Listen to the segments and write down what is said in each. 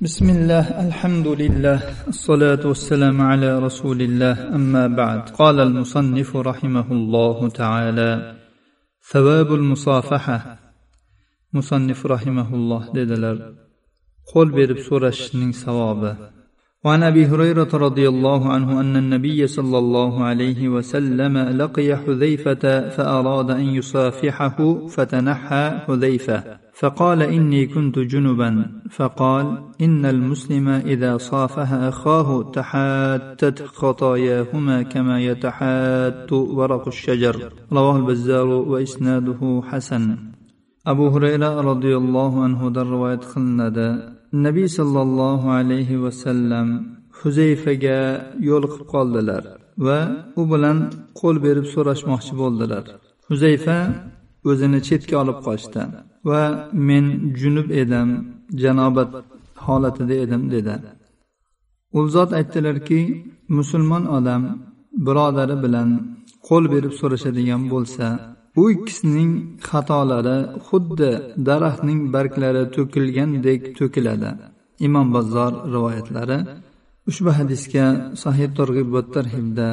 بسم الله الحمد لله الصلاة والسلام على رسول الله أما بعد قال المصنف رحمه الله تعالى ثواب المصافحة مصنف رحمه الله dediler قول berib so'rashning savobi وعن أبي هريرة رضي الله عنه أن النبي صلى الله عليه وسلم لقي حذيفة فأراد أن يصافحه فتنحى حذيفة فقال إني كنت جنبا فقال إن المسلم إذا صافح أخاه تحاتت خطاياهما كما يتحات ورق الشجر رواه البزار وإسناده حسن أبو هريرة رضي الله عنه در رواية قلندا Nabiy sallallohu alayhi vasallam Huzayfaga yo'liqib qoldilar va u bilan qo'l berib so'rashmoqchi bo'ldilar. Huzayfa o'zini chetga olib qochdi va men junub edim, janobat holatida edim dedi. U zot aytdilarki, musulmon odam birodari bilan qo'l berib so'rashadigan bo'lsa, u ikkisining xatolari xuddi daraxtning barglari to'kilgandek to'kiladi. Imom Bazzor rivoyatlari. Ushbu hadisga Sahih Targ'ib va Tarhibda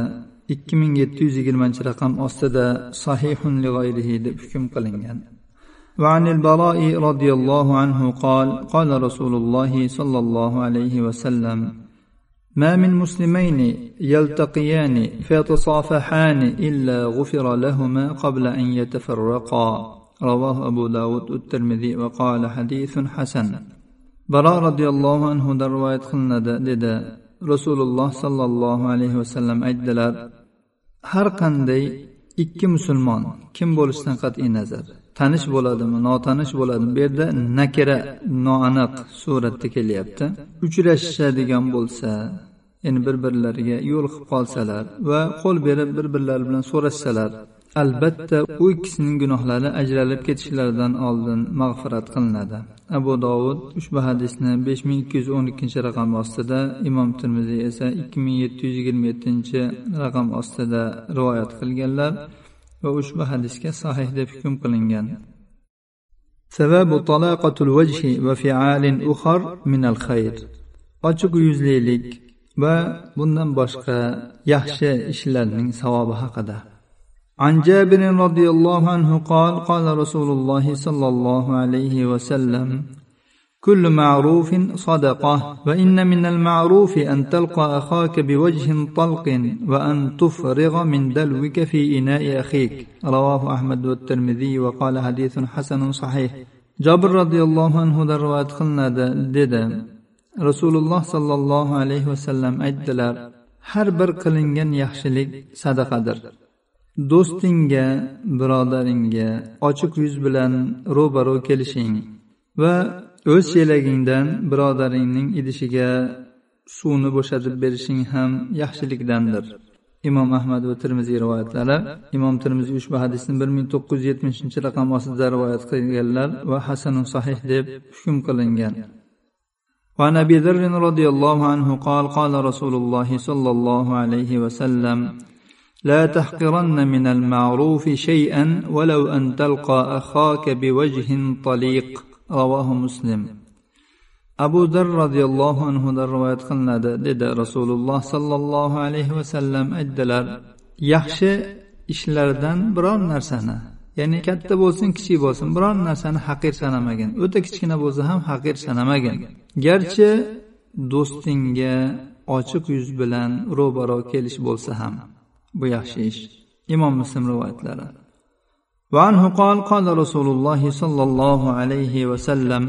2720-raqam ostida sahihun li g'ayrihi deb hukm qilingan. وعن البراء رضي الله عنه قال قال رسول الله صلى الله عليه وسلم ما من مسلمين يلتقيان فيتصافحان إلا غفر لهما قبل أن يتفرقا رواه أبو داود والترمذي وقال حديث حسن براء رضي الله عنه در رواية قلنا dedi Rasululloh sallallohu alayhi vasallam aytdilar har qanday ikki musulmon kim bo'lishidan qat'iy nazar tanish bo'ladimi notanish bo'ladimi bu yerda nakira noaniq suratda kelyapti uchrashadigan bo'lsa ya'ni bir-birlariga yo'liqib qolsalar va qo'l berib bir-birlari bilan so'rashsalar albatta u ikkisining gunohlari ajralib ketishlaridan oldin mag'firat qilinadi. Abu Dovud ushbu hadisni 5212-raqam ostida, Imom Tirmiziy esa 2727-raqam ostida rivoyat qilganlar va ushbu hadisga sahih deb hukm qilingan. Sababu talaqatul wajhi va fi'alin ukhar min al-khayr. Ochiq yuzlilik va bundan boshqa yaxshi ishlarning savobi haqida. عن جابر رضي الله عنه قال قال رسول الله صلى الله عليه وسلم كل معروف صدقة وإن من المعروف أن تلقى أخاك بوجه طلق وأن تفرغ من دلوك في إناء أخيك رواه أحمد والترمذي وقال حديث حسن صحيح. جابر رضي الله عنه در روايت قلنا dedi Rasululloh sallallohu alayhi vasallam aytdilar har bir qilingan yaxshilik sadaqadir. Do'stingga, birodaringga ochiq yuz bilan ro'baro kelishing va o'z chelagingdan birodaringning idishiga suvni bo'shatib berishing ham yaxshilikdandir. Imom Ahmad va Tirmiziy rivoyatlari. Imom Tirmiziy ushbu hadisni 1970-raqam ostida rivoyat qilganlar va hasanun sahih deb hukm qilingan. وعن أبي ذر رضي الله عنه قال قال رسول الله صلى الله عليه وسلم لا تحقرن من المعروف شيئا ولو أن تلقى أخاك بوجه طليق رواه مسلم. أبو ذر رضي الله عنه در رواية قلنا dedi Rasululloh sallallohu alayhi vasallam aytdilar yaxshi ishlardan biron narsani ya'ni katta bo'lsin kichik bo'lsin biron narsani haqir sanamagan o'ta kichkina bo'lsa ham haqir sanamagan garchi do'stingga ochiq yuz bilan ro'baro kelish bo'lsa ham bu yaxshi ish. Imom Muslim rivoyatlari. وعنه قال قال رسول الله صلى الله عليه وسلم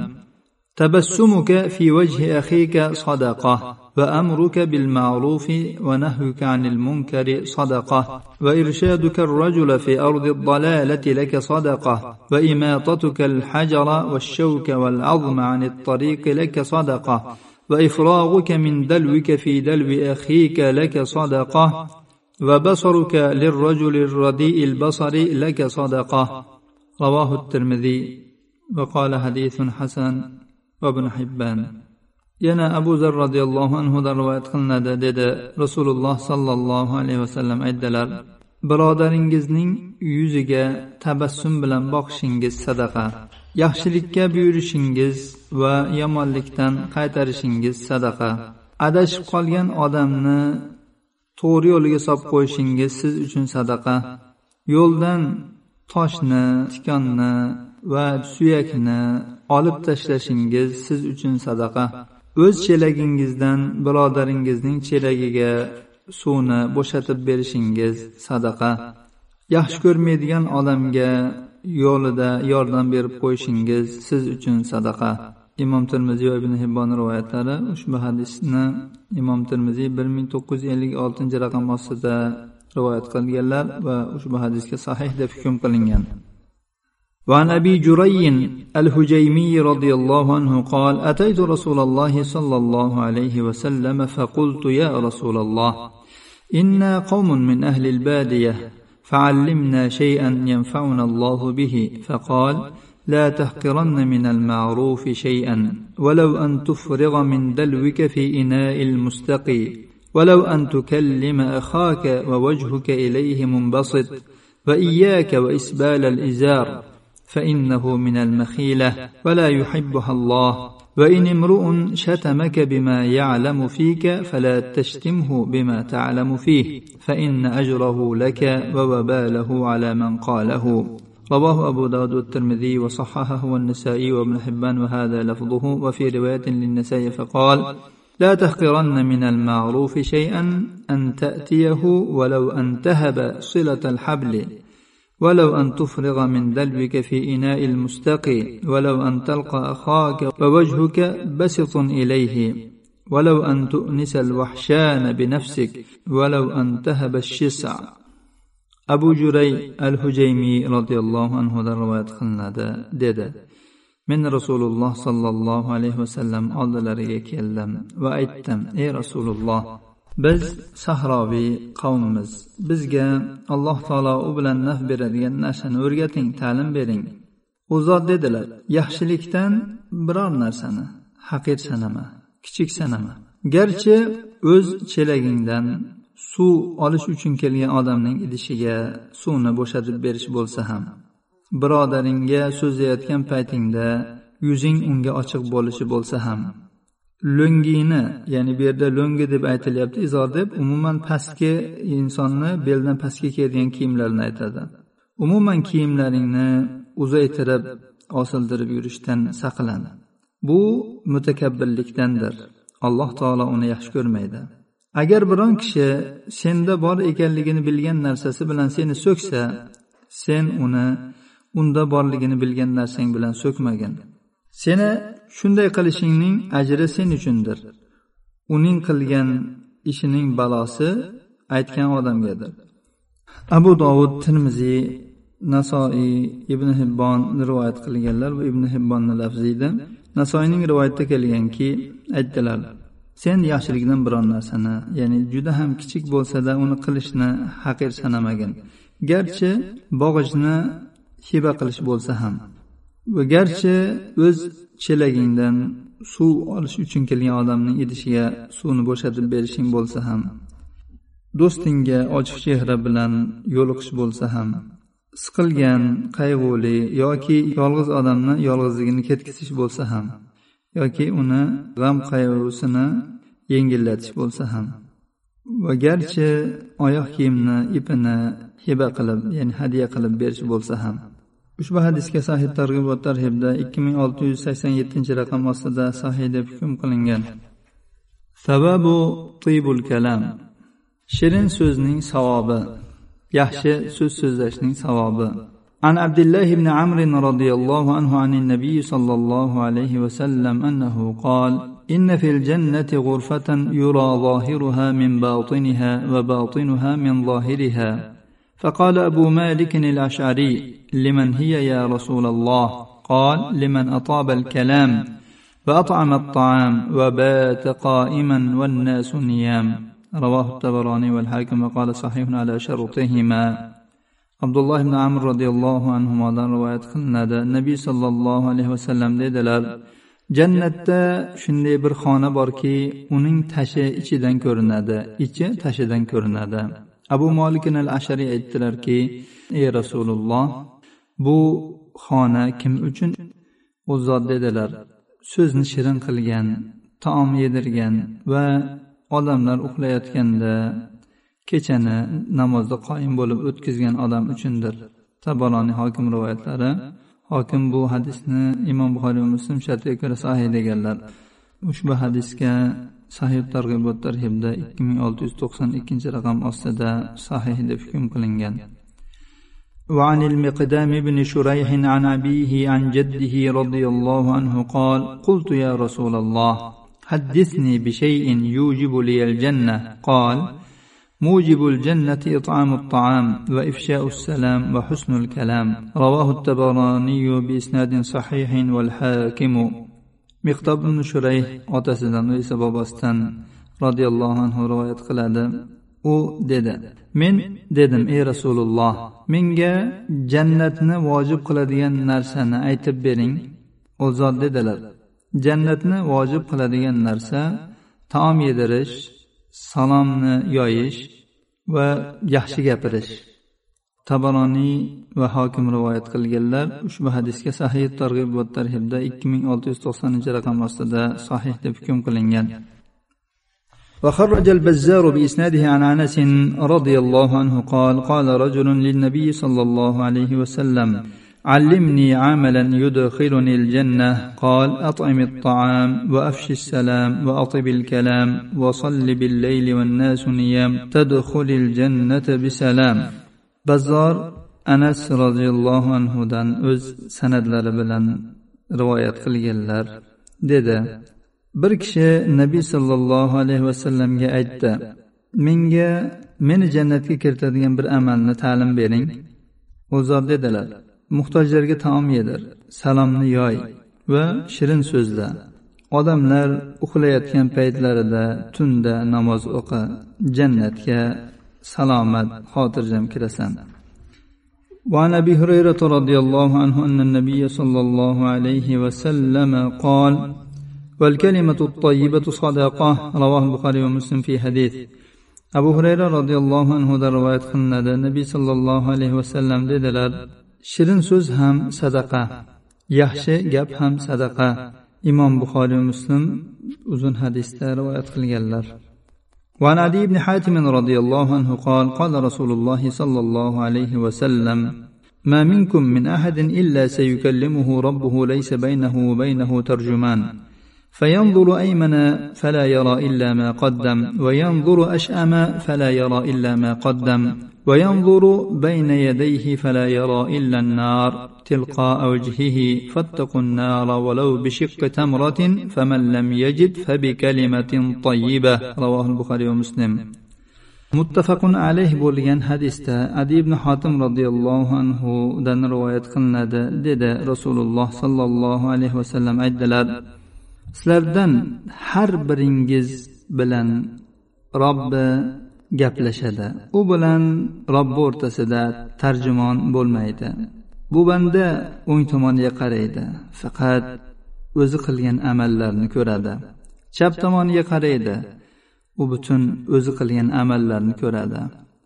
تبسمك في وجه أخيك صدقة وأمرك بالمعروف ونهيك عن المنكر صدقة وإرشادك الرجل في أرض الضلالة لك صدقة وإماطتك الحجر والشوك والعظم عن الطريق لك صدقة وإفراغك من دلوك في دلو أخيك لك صدقة وبصرك للرجل الرديء البصر لك صدقة رواه الترمذي وقال حديث حسن وابن حبان. yana Abu Zar radhiyallohu anhu da rivoyat qilinadi dedi Rasululloh sallallohu alayhi vasallam aytdilar birodaringizning yuziga tabassum bilan boqishingiz sadaqa yaxshilikka buyurishingiz va yomonlikdan qaytarishingiz sadaqa. Adashib qolgan odamni to'g'ri yo'liga solib qo'yishingiz siz uchun sadaqa. Yo'ldan toshni, tikonni va suyakni olib tashlashingiz siz uchun sadaqa. O'z chelagingizdan birodaringizning chelagiga suvni bo'shatib berishingiz sadaqa. Yaxshi ko'rmaydigan odamga yo'lida yordam berib qo'yishingiz siz uchun sadaqa. Imom Tirmiziy va Ibn Hibbon rivoyatlari. Ushbu hadisni Imom Tirmiziy 1956 raqam ostida rivoyat qilganlar va ushbu hadisga sahih deb hukm qilingan. وعن أبي جري الهجيمي رضي الله عنه قال: أتيت رسول الله صلى الله عليه وسلم فقلت: يا رسول الله، إنا قوم من أهل البادية، فعلمنا شيئا ينفعنا الله به. فقال: لا تحقرن من المعروف شيئا، ولو أن تفرغ من دلوك في إناء المستقي، ولو أن تكلم أخاك ووجهك إليه منبسط، وإياك وإسبال الإزار، فإنه من المخيلة ولا يحبها الله. وإن امرؤ شتمك بما يعلم فيك فلا تشتمه بما تعلم فيه، فإن أجره لك ووباله على من قاله. رواه أبو داود والترمذي وصححه والنسائي وابن حبان وهذا لفظه. وفي رواية للنسائي فقال: لا تحقرن من المعروف شيئا أن تأتيه ولو أن تهب صلة الحبل، ولو أن تفرغ من دلوك في إناء المستقي، ولو أن تلقى أخاك ووجهك بسط إليه، ولو أن تؤنس الوحشان بنفسك، ولو أن تهب الشسع. Abu Juray al-Hujaymi radhiyallohu anhu da rivoyat qilinadi dedi: Men Rasululloh sallallohu alayhi vasallam oldilariga keldim va aytdim: Ey Rasululloh, biz sahroviy qavmimiz. Bizga Alloh taolo u bilan naf beradigan narsani o'rgating, ta'lim bering. U zot dedilar: Yaxshilikdan biror narsani haqir sanama, kichik sanama. Garchi o'z chelagingdan suv olish uchun kelgan odamning idishiga suvni bo'shatib berish bo'lsa ham, birodaringga so'zlayotgan paytingda yuzing unga ochiq bo'lishi bo'lsa ham, lo'ngini, ya'ni bu yerda lo'ngi deb aytilyapti, izor deb umuman pastki insonni beldan pastga kiyadigan kiyimlarni aytadi. Umuman kiyimlaringni uzaytirib, osildirib yurishdan saqlan. Bu mutakabbirlikdandir. Alloh taolo uni yaxshi ko'rmaydi. Agar biron kishi senda bor ekanligini bilgan narsasi bilan seni so'ksa, sen uni unda borligini bilgan narsang bilan so'kmagin. Seni shunday qilishingning ajri sen uchundir. Uning qilgan ishining balosi aytgan odamgadir. Abu Dovud, Tirmiziy, Nasoiy, Ibn Hibbon rivoyat qilganlar va Ibn Hibbonning lafzida Nasoiyning rivoyatida kelganki, aytdilar: Sen yaxshilikdan biron narsani, ya'ni juda ham kichik bo'lsa-da uni qilishni haqir sanamagin. Garchi bog'ichni hiba qilish bo'lsa ham, va garchi o'z chelagingdan suv olish uchun kelgan odamning idishiga suvni bo'shatib berishing bo'lsa ham, do'stingga ochiq chehra bilan yo'liqish bo'lsa ham, siqilgan, qayg'uli yoki yolg'iz odamni yolg'izligini ketkizish bo'lsa ham, yoki uni g'am qayg'usini yengillatish bo'lsa ham, va garchi oyoq kiyimni ipini hiba qilib, ya'ni hadya qilib berish bo'lsa ham. Ushbu hadisga Sahih Targ'ib va Tarhibda 2687-raqam ostida sahih deb hukm qilingan. Sababu tibul kalam. Shirin so'zning savobi, yaxshi so'z so'zlashning savobi. عن عبد الله بن عمرو رضي الله عنه عن النبي صلى الله عليه وسلم أنه قال: إن في الجنة غرفة يرى ظاهرها من باطنها وباطنها من ظاهرها. فقال أبو مالك الأشعري: لمن هي يا رسول الله؟ قال: لمن أطاب الكلام وأطعم الطعام وبات قائما والناس نيام. رواه الطبراني والحاكم وقال صحيح على شرطهما. Abdullah ibn Amr radhiyallohu anhudan rivoyat qilinadi. Nabiy sallallohu alayhi vasallam dedilar: Jannatda shunday bir xona borki, uning tashi ichidan ko'rinadi, ichi tashidan ko'rinadi. Abu Malik al-Ashari aytdilarki: Ey Rasululloh, bu xona kim uchun? u zot dedilar: so'zni shirin qilgan, taom yedirgan va odamlar uxlayotganda kechani namozda qoyim bo'lib o'tkazgan odam uchundir. Tabaroniy, Hokim rivoyatlari. Hokim bu hadisni Imom Buxoriy va Muslim shartiga ko'ra sahih deganlar. Ushbu hadisga Sahih Targ'ib va Tarhibda 2692 raqam ostida sahih deb hukm qilingan. وعن المقدام بن شريح عن أبيه عن جده رضي الله عنه قال: قلت يا رسول الله حدثني بشيء يوجب لي الجنة. قال: موجب الجنة إطعام الطعام وإفشاء السلام وحسن الكلام. رواه الطبراني بإسناد صحيح والحاكم. مقدام بن شريح otasidan esa bobosidan radhiyallohu anhu rivoyat qiladi. U dedi: men dedim, ey Rasululloh, menga jannatni vojib qiladigan narsani aytib bering. U zot dedilar: jannatni vojib qiladigan narsa taom yedirish, salomni yoyish va yaxshi gapirish. Tabaroniy va Hokim rivoyat qilganlar. Ushbu hadisga Sahih Targ'ib va Tarhibda 2690 raqam ostida sahih deb hukm qilingan. وخرج البزار بإسناده عن أنس رضي الله عنه قال: قال رجل للنبي صلى الله عليه وسلم: علمني عملا يدخلني الجنة. قال: أطعم الطعام وأفش السلام وأطب الكلام وصل بالليل والناس نيام تدخل الجنة بسلام. Bazzor Anas radhiyallohu anhu dan o'z sanadlari bilan rivoyat qilganlar. Dedi: bir kishi Nabiy sallallohu alayhi vasallamga aytdi: meni jannatga kiritadigan bir amalni ta'lim bering. U zot dedilar: muhtojlarga taom yedir, salomni yoy va shirin so'zla. Odamlar uxlayotgan paytlarida tunda namoz o'qi, jannatga salomat xotirjam kirasan. وعن أبي هريرة رضي الله عنه أن النبي صلى الله عليه وسلم قال: والكلمة الطيبة صدقة. رواه البخاري ومسلم في حديث. Abu Hurayra radhiyallohu anhu da rivoyat qilinadi. Nabiy sallallohu alayhi vasallam dedilar: shirin so'z ham sadaqa, yaxshi gap ham sadaqa. Imom Buxoriy va Muslim uzun hadisda rivoyat qilganlar. وعن عدي بن حاتم رضي الله عنه قال: قال رسول الله صلى الله عليه وسلم: ما منكم من أحد إلا سيكلمه ربه ليس بينه وبينه ترجمان، فينظر أيمن فلا يرى إلا ما قدم، وينظر أشأم فلا يرى إلا ما قدم، وينظر بين يديه فلا يرى إلا النار تلقاء وجهه، فاتقوا النار ولو بشق تمرة، فمن لم يجد فبكلمة طيبة. رواه البخاري ومسلم. muttafaqun alayh bo'lgan hadisda Adi ibn Hatim radhiyallohu anhu dan rivoyat qilinadi. Dedi Rasululloh sallallohu alayhi vasallam aytdilar: sizlardan har biringiz bilan Robbi gaplashadi. U bilan Robbi o'rtasida tarjimon bo'lmaydi. Bu banda o'ng tomoniga qaraydi, faqat o'zi qilgan amallarni ko'radi. Chap tomoniga qaraydi, u butun o'zi qilgan amallarni ko'radi.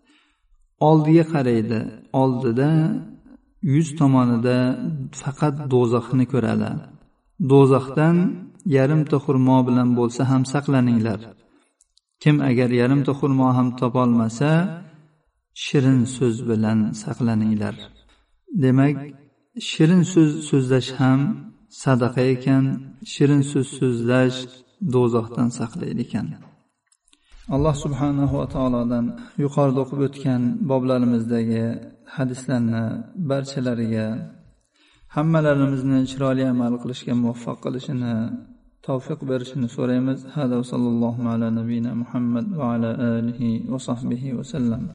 Oldiga qaraydi, oldida yuz tomonida faqat do'zaxni ko'radi. Do'zaxdan yarimta xurmo bilan bo'lsa ham saqlaninglar. Kim agar yarimta xurmo ham topolmasa, shirin so'z bilan saqlaninglar. Demak, shirin so'z so'zlash ham sadaqa ekan, shirin so'z so'zlash do'zaxdan saqlaydi ekan. Alloh subhanahu va taolodan yuqorida o'qib o'tgan boblarimizdagi hadislarni barchalariga hammalarimizni chiroyli amal qilishga muvaffaq qilishini, tavfiq berishini so'raymiz. Hada va sallallohu ala nabiyina Muhammad va ala alihi va sahbihi va sallam.